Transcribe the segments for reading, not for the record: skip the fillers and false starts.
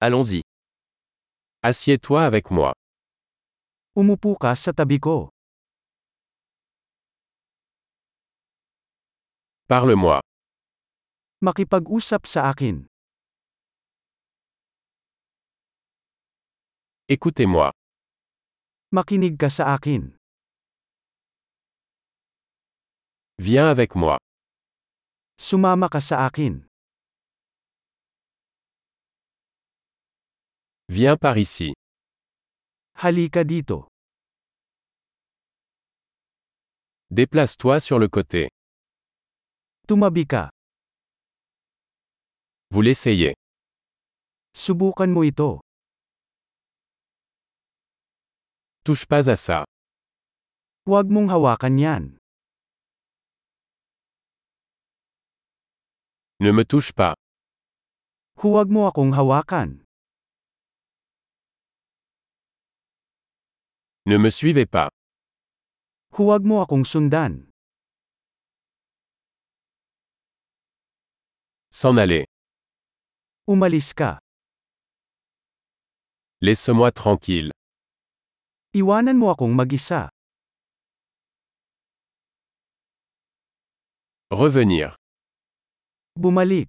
Allons-y. Assieds-toi avec moi. Umupo ka sa tabi ko. Parle-moi. Makipag-usap sa akin. Écoutez-moi. Makinig ka sa akin. Viens avec moi. Sumama ka sa akin. Viens par ici. Halika dito. Déplace-toi sur le côté. Tumabi ka. Vous l'essayez. Subukan mo ito. Touche pas à ça. Huwag mong hawakan yan. Ne me touche pas. Huwag mo akong hawakan. Ne me suivez pas. Huwag mo akong sundan. S'en aller. Umalis ka. Laisse-moi tranquille. Iwanan mo akong mag-isa. Revenir. Bumalik.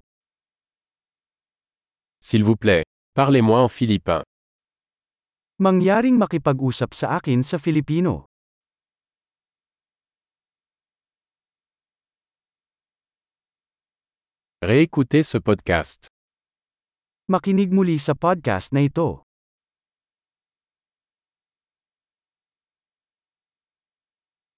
S'il vous plaît, parlez-moi en philippin. Mangyaring makipag-usap sa akin sa Filipino. Réécoutez ce podcast. Makinig muli sa podcast na ito.